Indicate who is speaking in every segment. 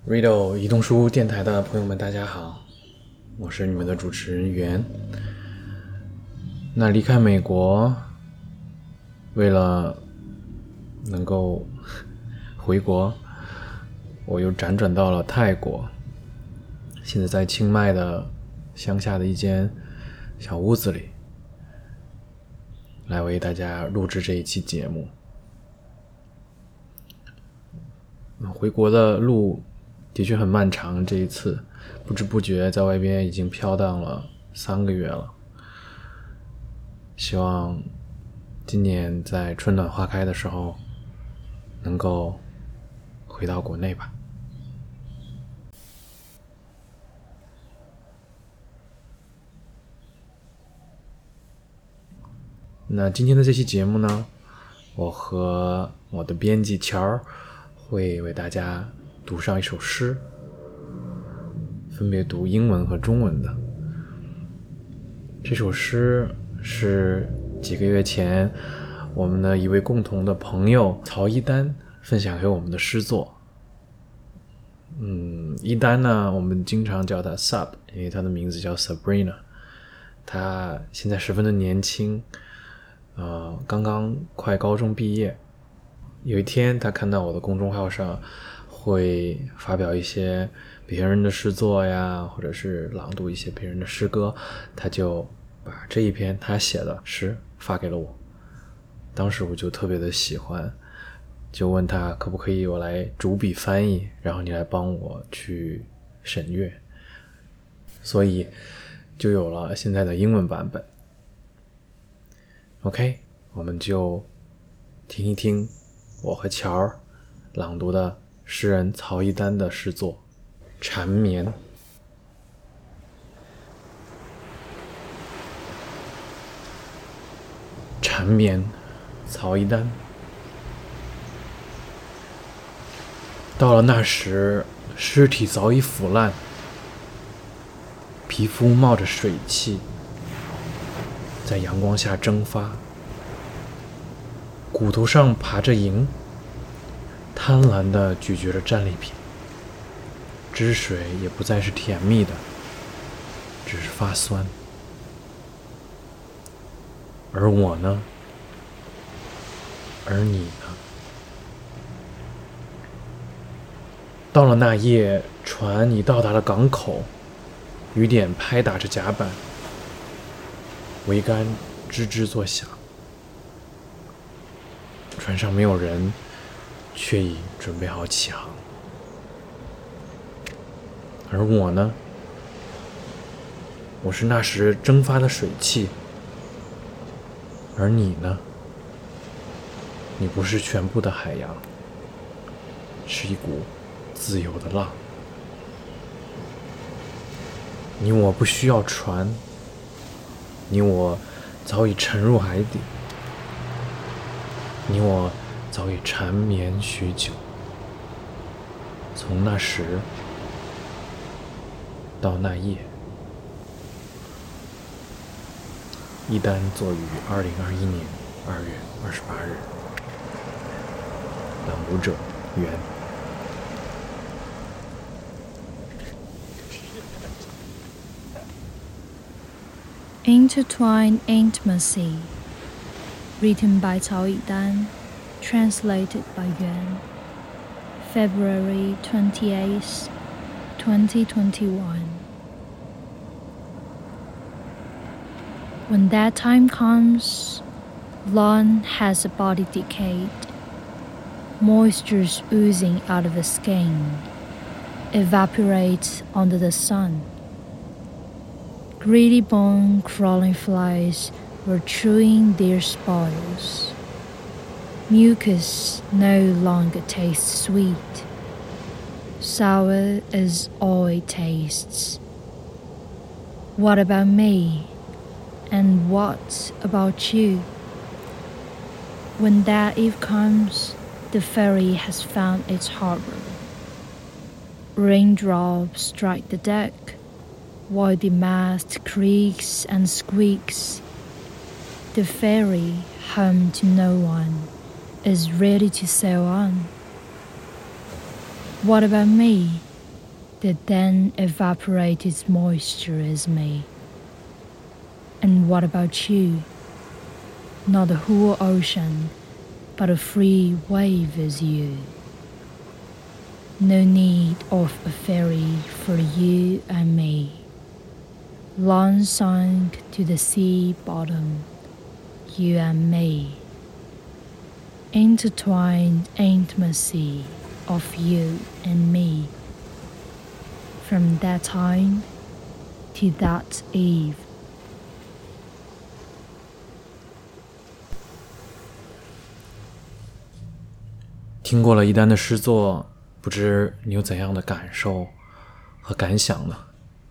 Speaker 1: Riddle 移动书电台的朋友们大家好，我是你们的主持人袁。那离开美国，为了能够回国，我又辗转到了泰国，现在在清迈的乡下的一间小屋子里，来为大家录制这一期节目。回国的路的确很漫长，这一次不知不觉在外边已经飘荡了3个月了。希望今年在春暖花开的时候能够回到国内吧。那今天的这期节目呢，我和我的编辑乔会为大家读上一首诗，分别读英文和中文的。这首诗是几个月前我们的一位共同的朋友曹一丹分享给我们的诗作。一丹呢，我们经常叫他 Sub， 因为他的名字叫 Sabrina。他现在十分的年轻，刚刚快高中毕业。有一天他看到我的公众号上会发表一些别人的诗作呀，或者是朗读一些别人的诗歌，他就把这一篇他写的诗发给了我。当时我就特别的喜欢，就问他可不可以我来主笔翻译，然后你来帮我去审阅，所以就有了现在的英文版本。 OK， 我们就听一听我和乔朗读的诗人曹一丹的诗作《缠绵》。缠绵，曹一丹。到了那时，尸体早已腐烂，皮肤冒着水汽，在阳光下蒸发，骨头上爬着蝇，贪婪地咀嚼着战利品，汁水也不再是甜蜜的，只是发酸。而我呢？而你呢？到了那夜，船已到达了港口，雨点拍打着甲板，桅杆吱吱作响。船上没有人，却已准备好起航。而我呢？我是那时蒸发的水汽。而你呢？你不是全部的海洋，是一股自由的浪。你我不需要船，你我早已沉入海底，你我早已缠绵许久。从那时到那夜。一丹作于2021年2月28日。朗读者袁。
Speaker 2: Intertwined Intimacy, written by Cao Yidan, translated by Yuan. February 28th, 2021. When that time comes, lawn has a body decayed, moisture's oozing out of the skin, evaporates under the sun. Greedy bone-crawling flies were chewing their spoils. Mucus no longer tastes sweet. Sour is all it tastes. What about me? And what about you? When that eve comes, the ferry has found its harbor. Raindrops strike the deck, while the mast creaks and squeaks. The ferry, home to no one, is ready to sail on. What about me? that then evaporate its moisture as me. And what about you? Not the whole ocean, but a free wave as you. No need of a ferry for you and me. Long sunk to the sea bottom, you and me. Intertwined intimacy of you and me. From that time to that eve.
Speaker 1: 听过了一丹的诗作，不知你有怎样的感受和感想呢？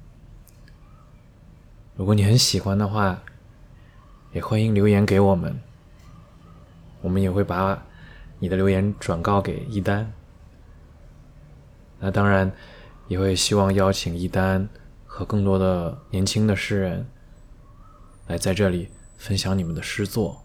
Speaker 1: 如果你很喜欢的话，也欢迎留言给我们，我们也会把你的留言转告给一丹。那当然也会希望邀请一丹和更多的年轻的诗人来在这里分享你们的诗作。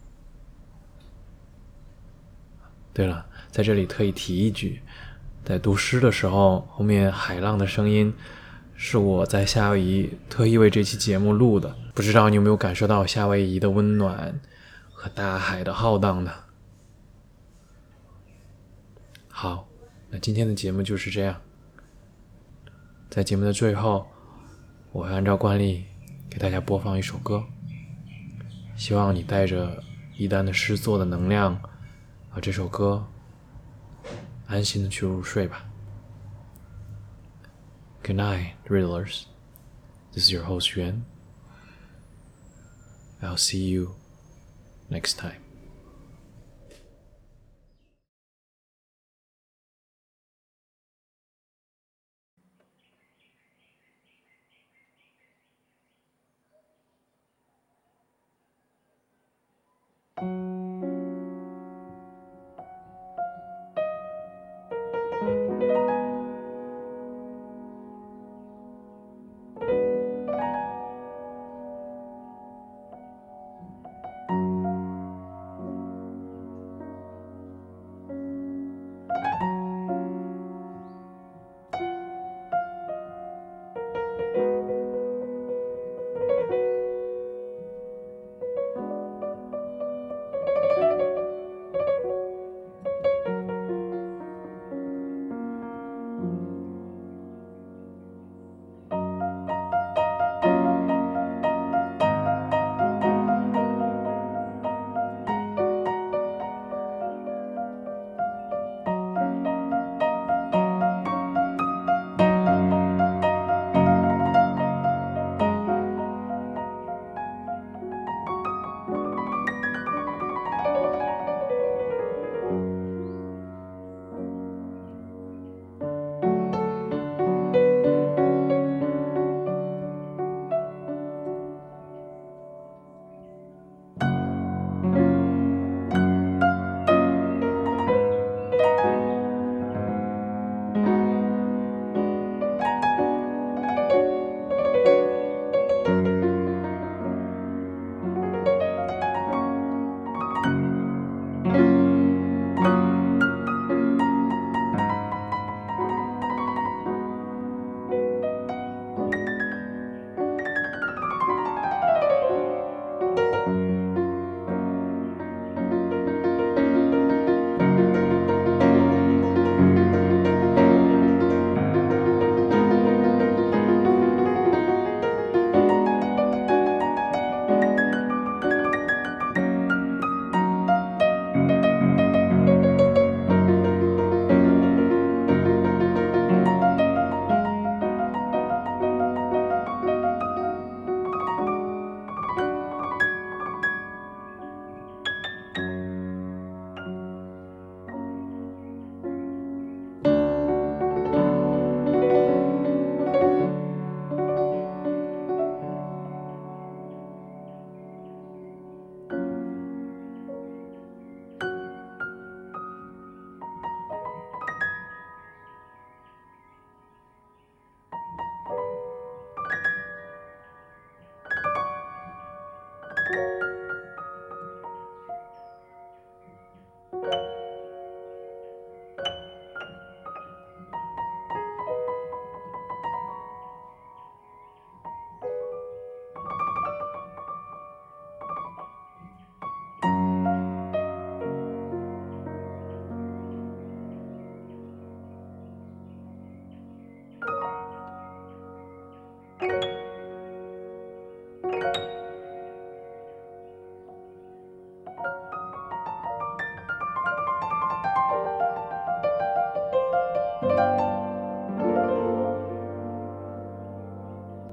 Speaker 1: 对了，在这里特意提一句，在读诗的时候，后面海浪的声音是我在夏威夷特意为这期节目录的，不知道你有没有感受到夏威夷的温暖和大海的浩荡呢？好，那今天的节目就是这样。在节目的最后，我会按照惯例给大家播放一首歌，希望你带着一丹的诗作的能量和这首歌安心的去入睡吧。Good night, Riddlers. This is your host Yuan. I'll see you next time.